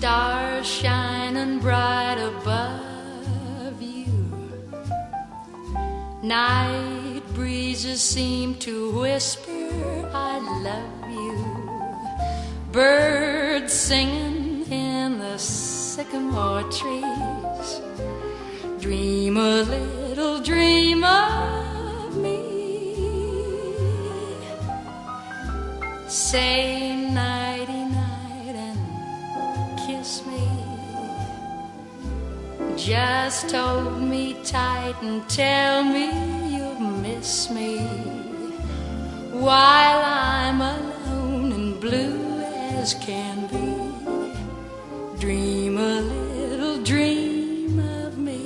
Stars shining bright above you. Night breezes seem to whisper, I love you. Birds singing in the sycamore trees. Dream a little dream of me. Say nighty-night and kiss me. Just hold me tight and tell me you'll miss me while I'm alone and blue as can be. Dream a little dream of me.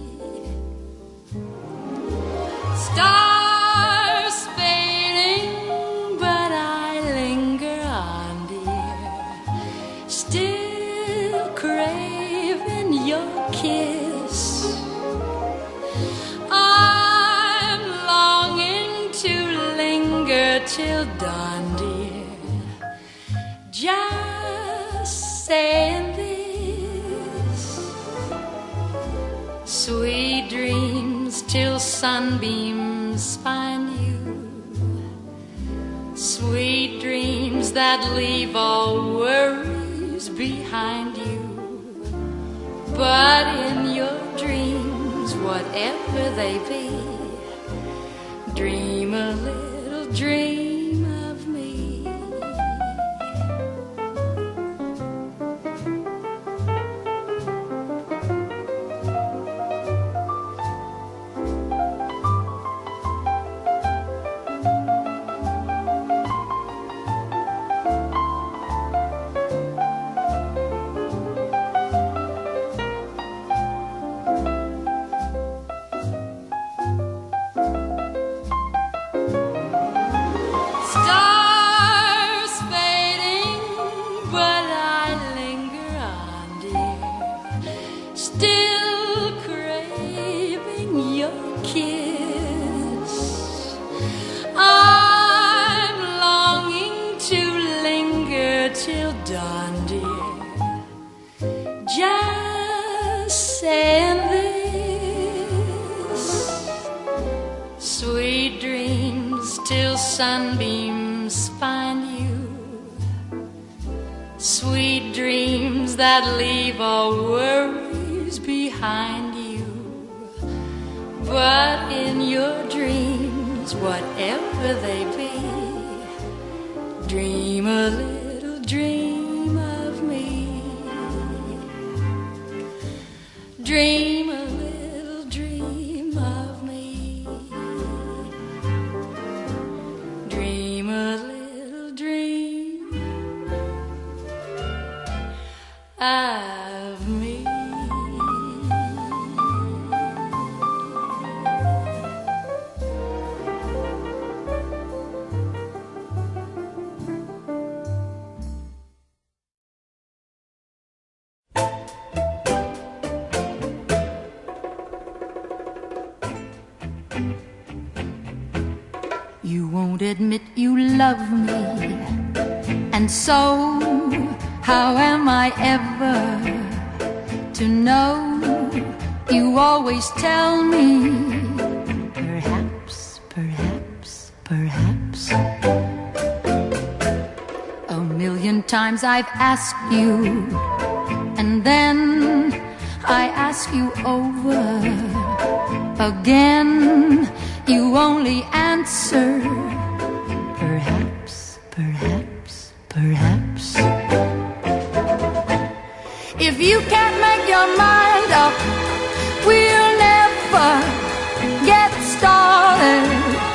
Stars fading, but I linger on, dear, still craving your kiss. I'm longing to linger till dawn, dear, just saying this. Sweet dreams till sunbeams find you. Sweet dreams that leave all worries behind you. But in your dreams, whatever they be, dream a little dream of me. Stars fading, but I linger on, dear, still craving your kiss. I'm longing to linger till dawn, dear, just saying this. Sweet dreams till sunbeams find you. Sweet dreams that leave all worries behind you. But in your dreams, whatever they be, dream a little dream of me. Dream a little dream of me. Dream a little dream of me. You won't admit you love me, and so how am I ever to know? You always tell me, perhaps, perhaps, perhaps. A million times I've asked you, and then I ask you over again. You only answer, perhaps, perhaps, perhaps. If you can't make your mind up, we'll never get started.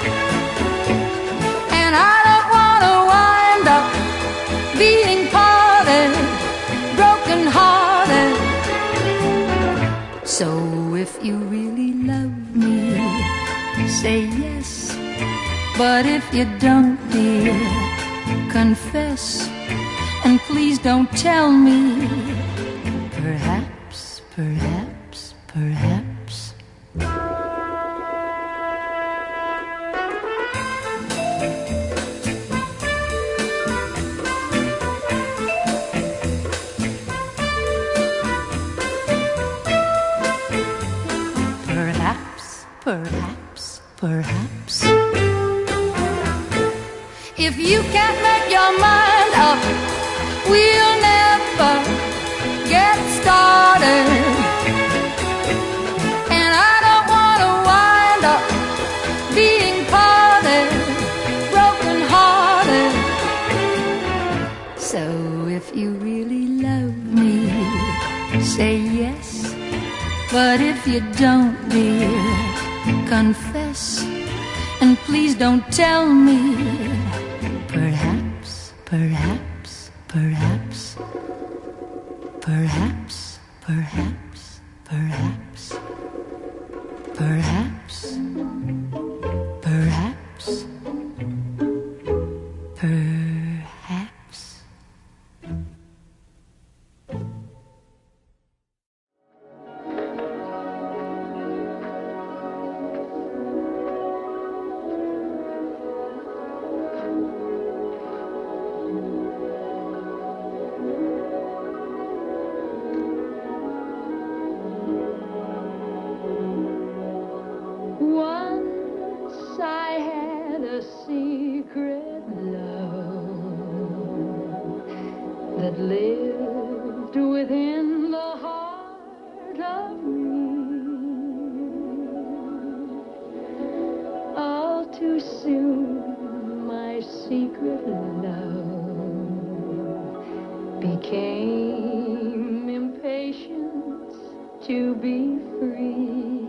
And I don't want to wind up being parted, broken hearted. So if you really love me, say yes. But if you don't, dear, confess. And please don't tell me, perhaps, perhaps, perhaps. perhaps, perhaps. If you can't make your mind up, we'll never get started. And I don't want to wind up being parted, broken hearted. So if you really love me, say yes. But if you don't, dear, confess. And please don't tell me perhaps, perhaps, perhaps, perhaps, perhaps, perhaps, perhaps, perhaps, perhaps. Lived within the heart of me. All too soon my secret love became impatient to be free.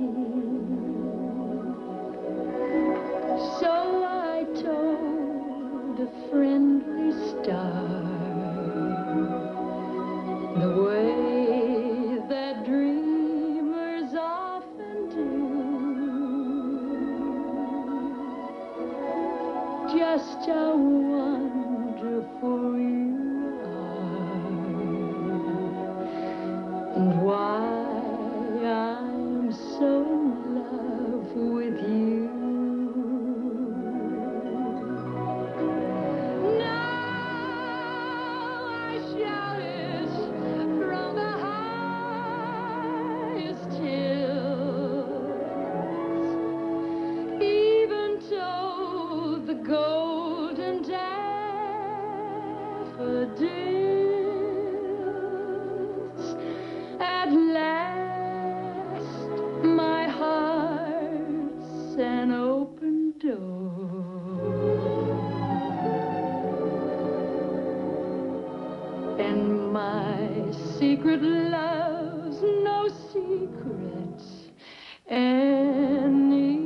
So I told a friendly star the way that dreamers often do, just how wonderful you are, and why I'm so in love with you. At last, my heart's an open door, and my secret love's no secret anymore.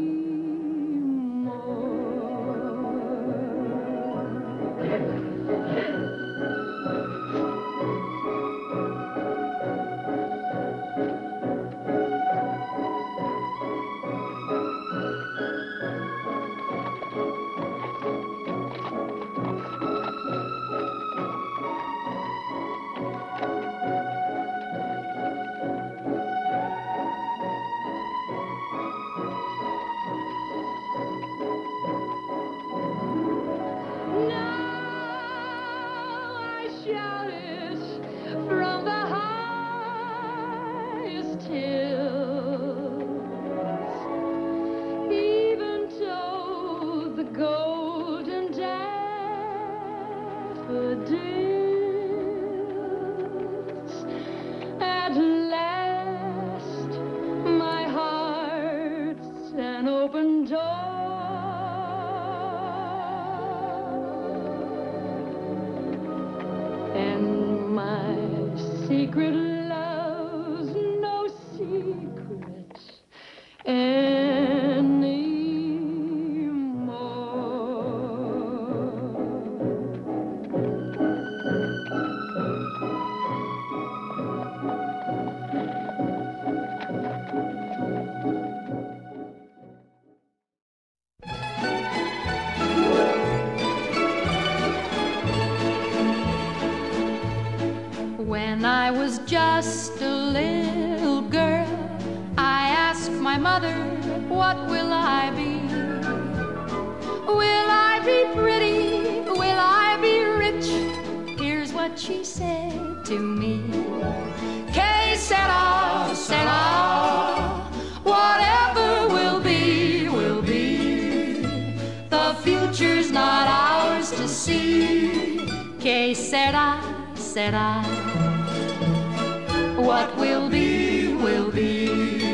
At last, my heart's an open door, and my secret love's no secret anymore. When I was just a little girl, I asked my mother, what will I be? Will I be pretty? Will I be rich? Here's what she said to me. Que sera, sera, whatever will be. said I, what will be, will be.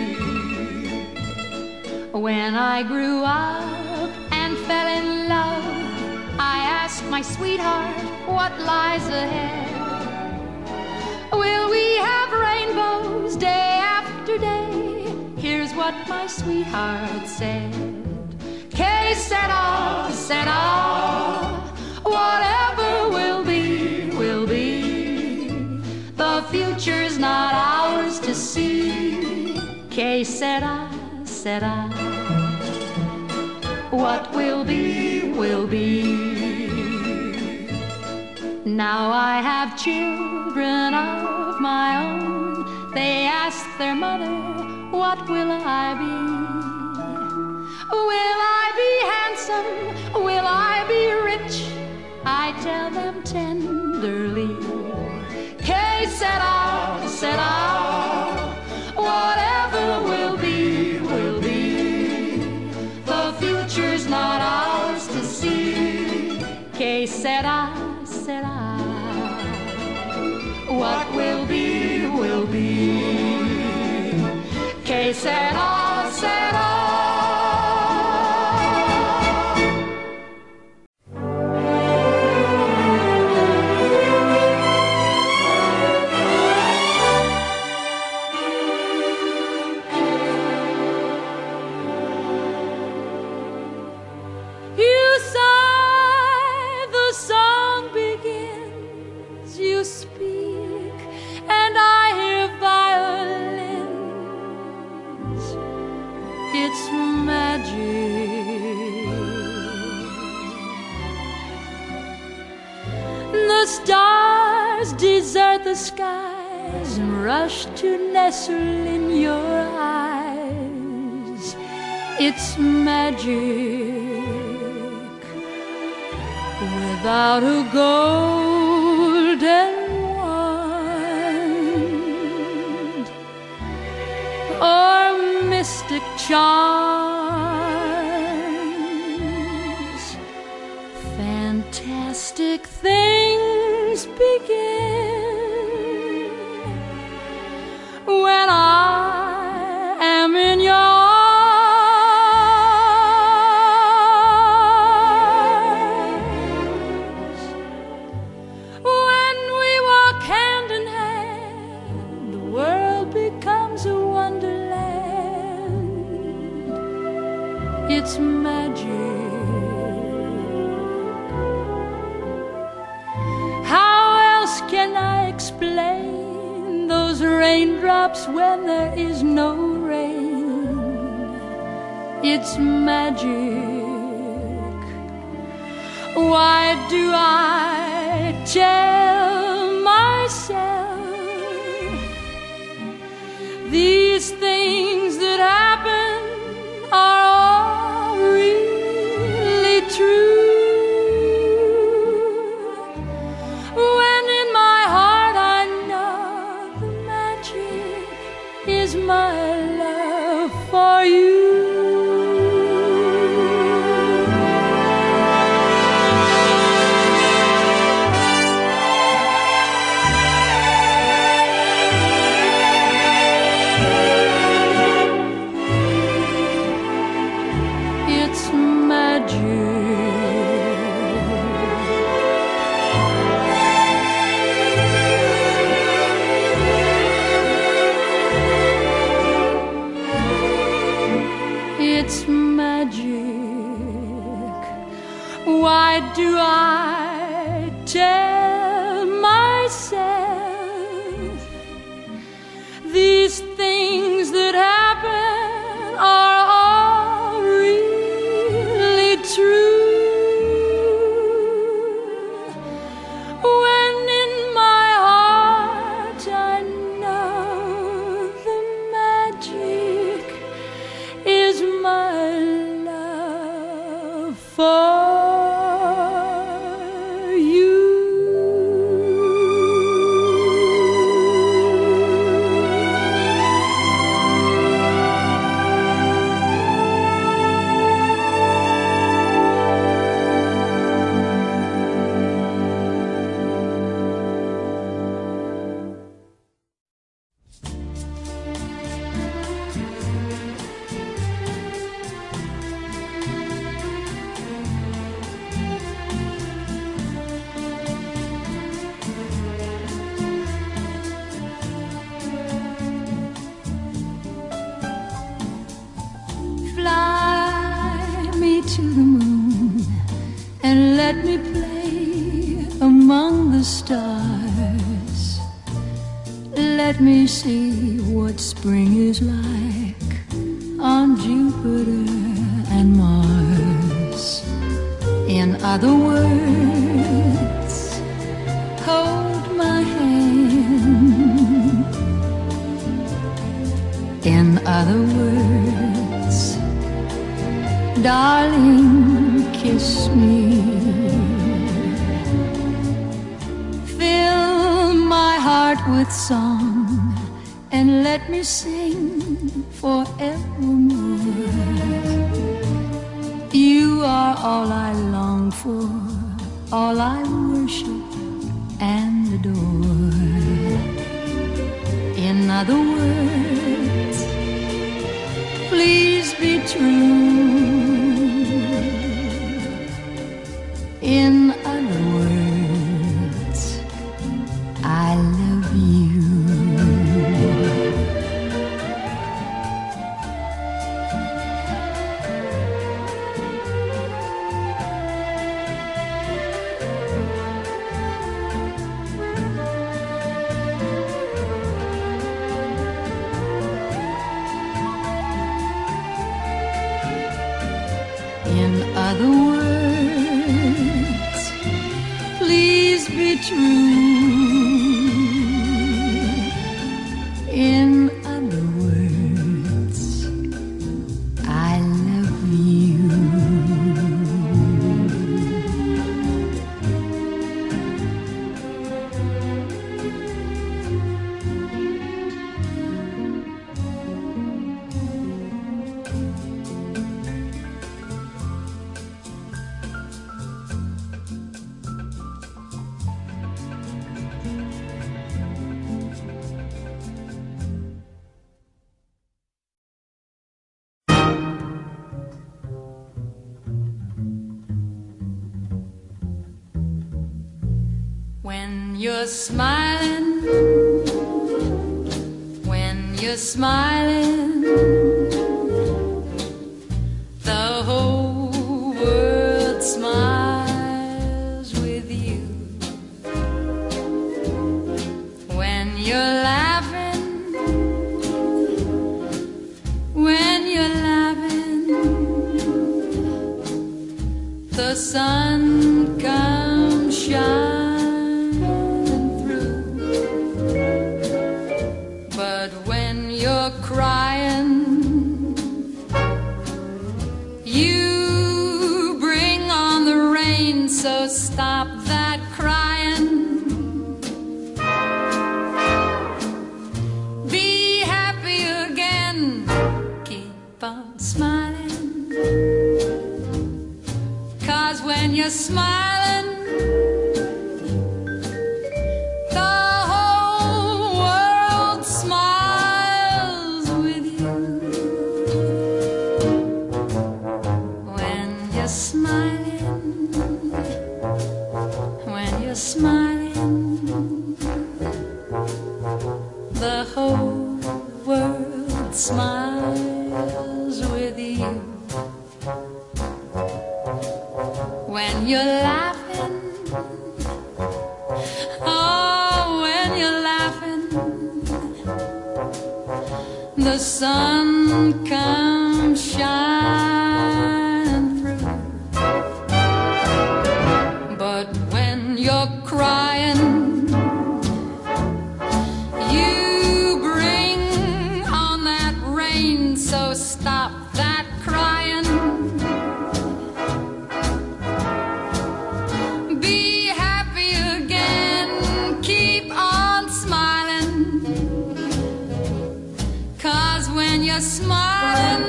When I grew up and fell in love, I asked my sweetheart what lies ahead. Will we have rainbows day after day? Here's what my sweetheart said. Que sera, sera, whatever will be, will be. The future's not ours to see. Que sera, sera, what will be, will be. Now I have children of my own. They ask their mother, what will I be? Will I be handsome? Will I be rich? I tell them tenderly, que sera, sera, whatever will be, will be. The future's not ours to see. Que sera, sera, what will be, will be. Que sera, sera. Stars desert the skies and rush to nestle in your eyes. It's magic without a golden wand or mystic charms. Fantastic things begin when I am in your arms. When we walk hand in hand, the world becomes a wonderland. It's magic. Can I explain those raindrops when there is no rain? It's magic. Why do I tell myself these things that happen are all really true? My love for you. It's magic. It's magic. Why do I tell myself these things that happen are all really true? When in my heart I know the magic is my love for you. to the moon and let me play among the stars. Let me see what spring is like on Jupiter and Mars. In other words, hold my hand. In other words, darling, kiss me. Fill my heart with song and let me sing forevermore. You are all I long for, all I worship and adore. In other words, please be true. In other words, I love you. In other words, please be true. In other words, I love you. When you're smiling, when you're smiling, the whole world smiles with you. When you're laughing, when you're laughing, the sun comes shining. Crying, you bring on the rain, so stop that crying. Be happy again, keep on smiling, 'cause when you're smiling, smiling, the whole world smiles with you. When you're laughing, oh, when you're laughing, the sun comes shining through. But when you're crying, you bring on that rain, so stop that crying. Be happy again, keep on smiling, 'cause when you're smiling,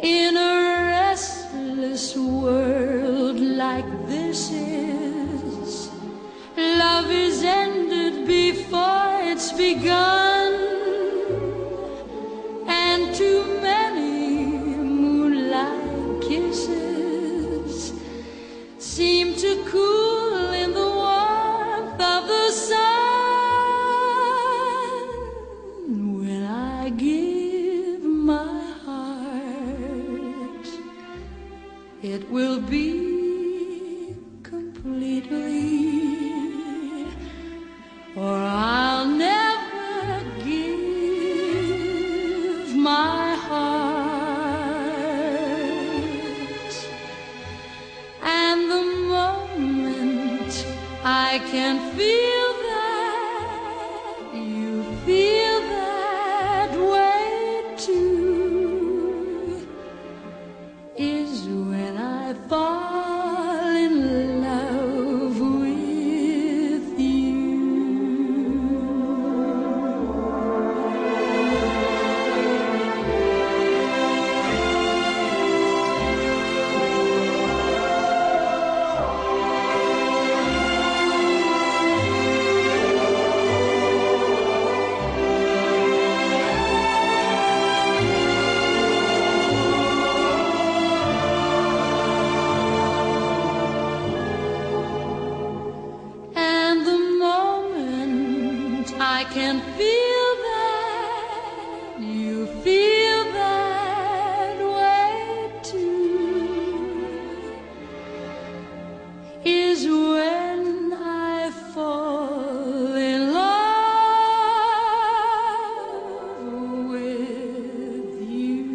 In a restless world like this is, love is ended before it's begun, and too many moonlight kisses seem to cool in the warmth of the sun. When I give my heart, it will be completely, or I'll never give my heart. And the moment I can feel that you feel that way too is when I fall in love with you. And the moment I can feel that you feel that way too is when I fall in love with you.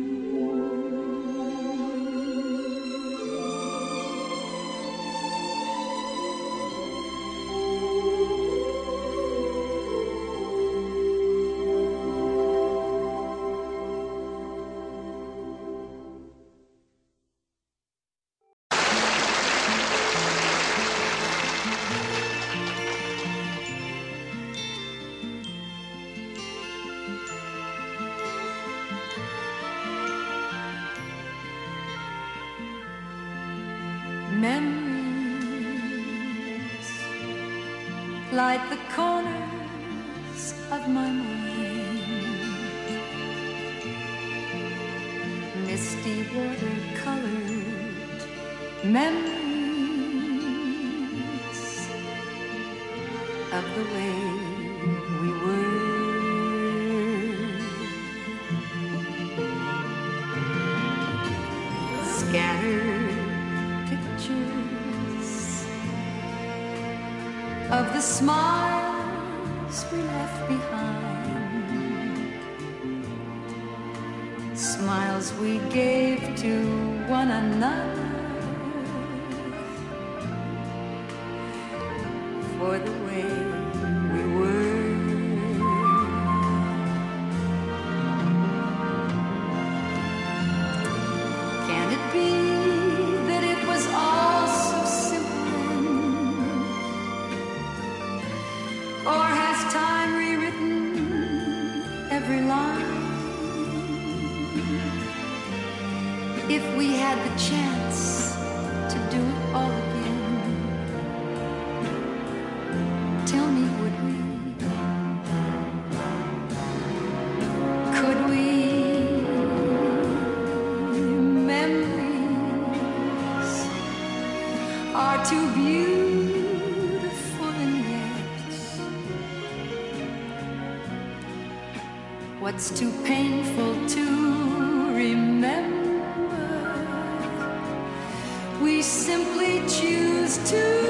Memories light the corners of my mind, misty water-colored memories of the way we were. Scattered pictures of the smiles we left behind, smiles we gave to one another for the way we were. Can it be that it was all so simple, or has time rewritten every line? If we had the chance to do it all again, tell me, would we? Could we? Memories are too beautiful, and yet what's too painful to remember, we simply choose to